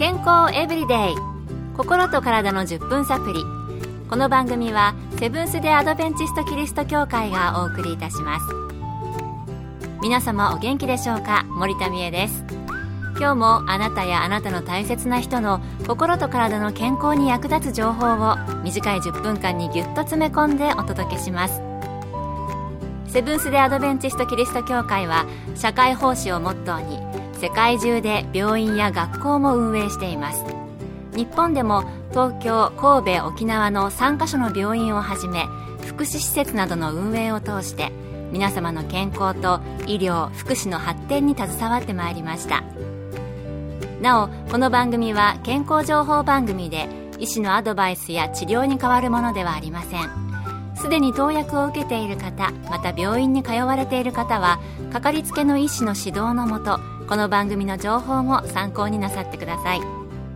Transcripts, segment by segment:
健康エブリデイ、心と体の10分サプリ。この番組はセブンス・デ・アドベンチスト・キリスト教会がお送りいたします。皆様お元気でしょうか。森田美恵です。今日もあなたやあなたの大切な人の心と体の健康に役立つ情報を短い10分間にぎゅっと詰め込んでお届けします。セブンス・デ・アドベンチスト・キリスト教会は社会奉仕をモットーに世界中で病院や学校も運営しています。日本でも東京、神戸、沖縄の3カ所の病院をはじめ福祉施設などの運営を通して皆様の健康と医療・福祉の発展に携わってまいりました。なお、この番組は健康情報番組で医師のアドバイスや治療に代わるものではありません。すでに投薬を受けている方、また病院に通われている方はかかりつけの医師の指導のもと、この番組の情報も参考になさってください。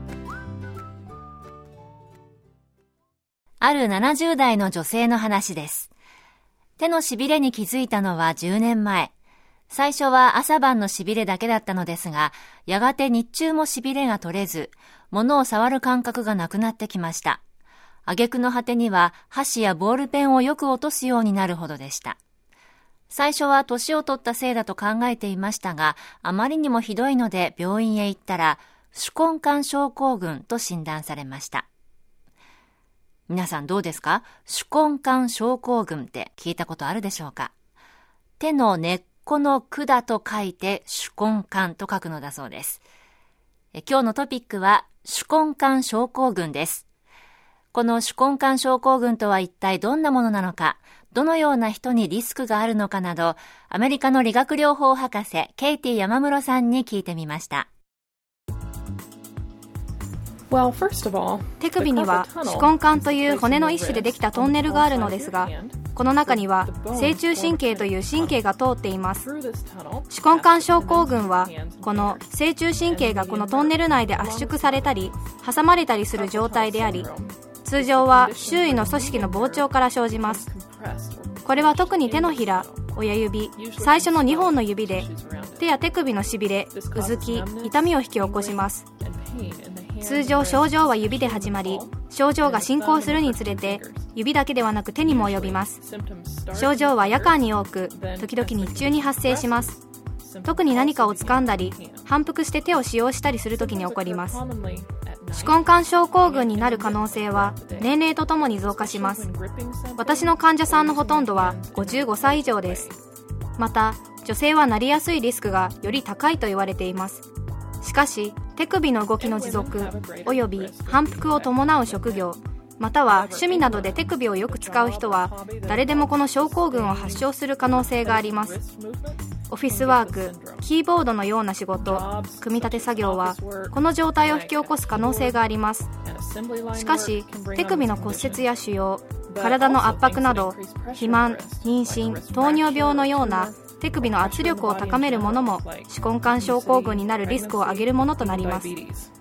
ある70代の女性の話です。手のしびれに気づいたのは10年前。最初は朝晩のしびれだけだったのですが、やがて日中もしびれが取れず、物を触る感覚がなくなってきました。挙句の果てには箸やボールペンをよく落とすようになるほどでした。最初は年を取ったせいだと考えていましたが、あまりにもひどいので病院へ行ったら、手根管症候群と診断されました。皆さんどうですか？手根管症候群って聞いたことあるでしょうか？手の根っこの管と書いて手根管と書くのだそうです。今日のトピックは手根管症候群です。この手根管症候群とは一体どんなものなのか、どのような人にリスクがあるのかなど、アメリカの理学療法博士ケイティ山室さんに聞いてみました。 手首には手根管という骨の一種でできたトンネルがあるのですが、この中には正中神経という神経が通っています。手根管症候群はこの正中神経がこのトンネル内で圧縮されたり挟まれたりする状態であり、通常は周囲の組織の膨張から生じます。これは特に手のひら、親指、最初の2本の指で手や手首のしびれ、うずき、痛みを引き起こします。通常症状は指で始まり、症状が進行するにつれて指だけではなく手にも及びます。症状は夜間に多く、時々日中に発生します。特に何かを掴んだり反復して手を使用したりするときに起こります。手根管症候群になる可能性は年齢とともに増加します。私の患者さんのほとんどは55歳以上です。また女性はなりやすいリスクがより高いと言われています。しかし手首の動きの持続および反復を伴う職業、または趣味などで手首をよく使う人は誰でもこの症候群を発症する可能性があります。オフィスワーク、キーボードのような仕事、組み立て作業はこの状態を引き起こす可能性があります。しかし手首の骨折や腫瘍、体の圧迫など肥満、妊娠、糖尿病のような手首の圧力を高めるものも手根管症候群になるリスクを上げるものとなります。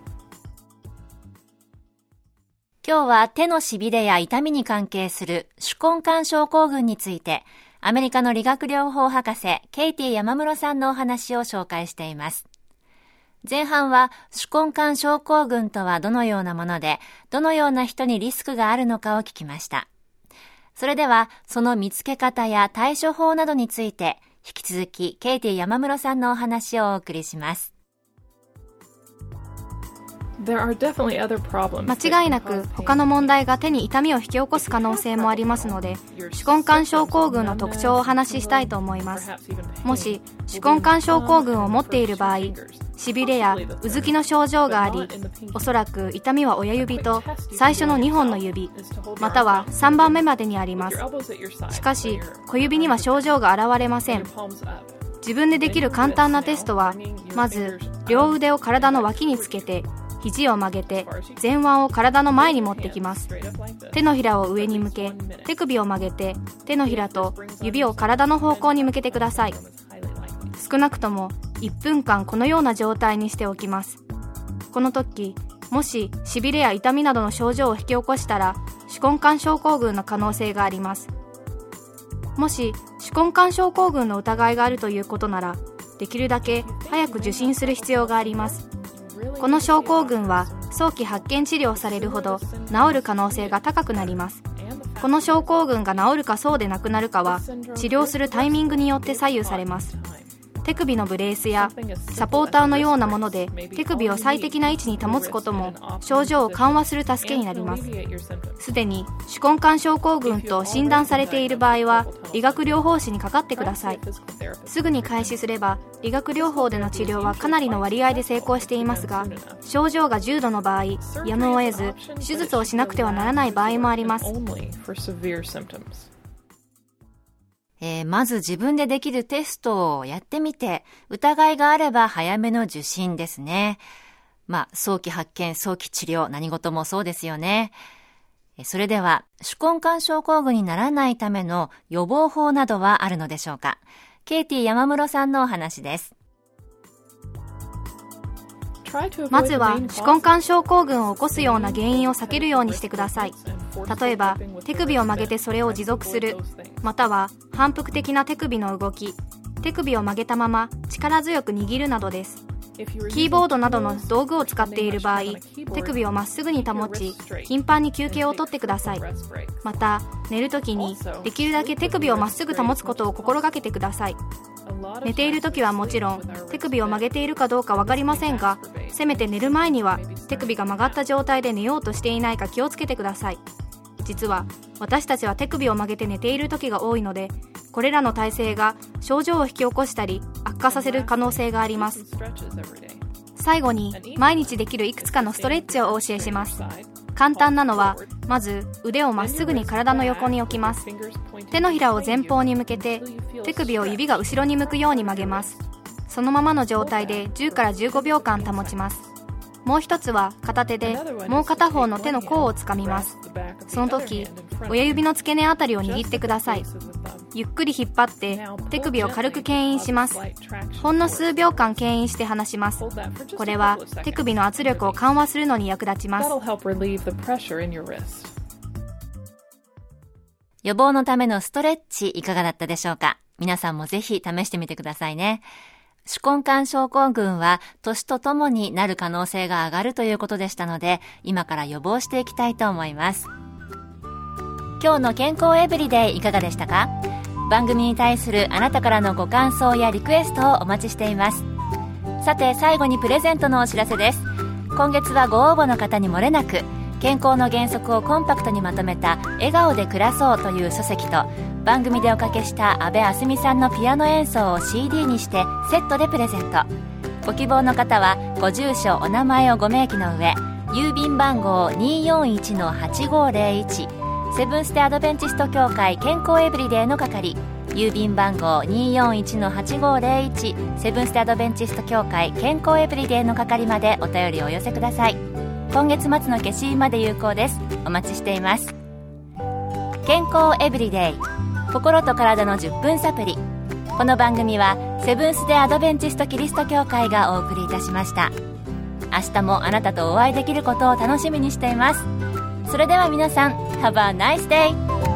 今日は手のしびれや痛みに関係する手根管症候群について、アメリカの理学療法博士ケイティ山室さんのお話を紹介しています。前半は手根管症候群とはどのようなもので、どのような人にリスクがあるのかを聞きました。それではその見つけ方や対処法などについて、引き続きケイティ山室さんのお話をお送りします。 間違いなく他の問題が手に痛みを引き起こす可能性もありますので、手根管症候群の特徴をお話ししたいと思います。もし手根管症候群を持っている場合、しびれやうずきの症状があり、おそらく痛みは親指と最初の2本の指、または3番目までにあります。しかし小指には症状が現れません。自分でできる簡単なテストは、まず両腕を体の脇につけて肘を曲げて前腕を体の前に持ってきます。手のひらを上に向け、手首を曲げて手のひらと指を体の方向に向けてください。少なくとも1分間このような状態にしておきます。この時、もししびれや痛みなどの症状を引き起こしたら手根管症候群の可能性があります。もし手根管症候群の疑いがあるということなら、できるだけ早く受診する必要があります。 この症候群は早期発見治療されるほど治る可能性が高くなります。この症候群が治るかそうでなくなるかは治療するタイミングによって左右されます。手首のブレースやサポーターのようなもので手首を最適な位置に保つことも症状を緩和する助けになります。すでに手根管症候群と診断されている場合は理学療法士にかかってください。すぐに開始すれば理学療法での治療はかなりの割合で成功していますが、症状が重度の場合やむを得ず手術をしなくてはならない場合もあります。 まず自分でできるテストをやってみて、疑いがあれば早めの受診ですね。早期発見、早期治療、何事もそうですよね。それでは、手根管症候群にならないための予防法などはあるのでしょうか。ケイティ山室さんのお話です。 まずは手根管症候群を起こすような原因を避けるようにしてください。例えば手首を曲げてそれを持続する、または反復的な手首の動き、手首を曲げたまま力強く握るなどです。キーボードなどの道具を使っている場合、手首をまっすぐに保ち頻繁に休憩をとってください。また寝るときにできるだけ手首をまっすぐ保つことを心がけてください。寝ているときはもちろん手首を曲げているかどうか分かりませんが、せめて寝る前には手首が曲がった状態で寝ようとしていないか気をつけてください。実は私たちは手首を曲げて寝ている時が多いので、これらの体勢が症状を引き起こしたり悪化させる可能性があります。最後に毎日できるいくつかのストレッチをお教えします。簡単なのは、まず腕をまっすぐに体の横に置きます。手のひらを前方に向けて手首を指が後ろに向くように曲げます。そのままの状態で10から15秒間保ちます。もう一つは片手でもう片方の手の甲をつかみます。その時親指の付け根あたりを握ってください。ゆっくり引っ張って手首を軽く牽引します。ほんの数秒間牽引して離します。これは手首の圧力を緩和するのに役立ちます。 予防のためのストレッチいかがだったでしょうか。皆さんもぜひ試してみてくださいね。手根管症候群は年とともになる可能性が上がるということでしたので、今から予防していきたいと思います。今日の健康エブリデイいかがでしたか。番組に対するあなたからのご感想やリクエストをお待ちしています。さて最後にプレゼントのお知らせです。今月はご応募の方に漏れなく、健康の原則をコンパクトにまとめた笑顔で暮らそうという書籍と、番組でおかけした阿部あすみさんのピアノ演奏を CD にしてセットでプレゼント。ご希望の方はご住所お名前をご明記の上、郵便番号 241-8501 セブンステアドベンチスト協会健康エブリデイの係、郵便番号 241-8501 セブンステアドベンチスト協会健康エブリデイの係までお便りをお寄せください。今月末の消印まで有効です。お待ちしています。健康エブリデイ、心と体の10分サプリ。この番組はセブンス・デ・アドベンチスト・キリスト教会がお送りいたしました。明日もあなたとお会いできることを楽しみにしています。それでは皆さん、Have a nice day!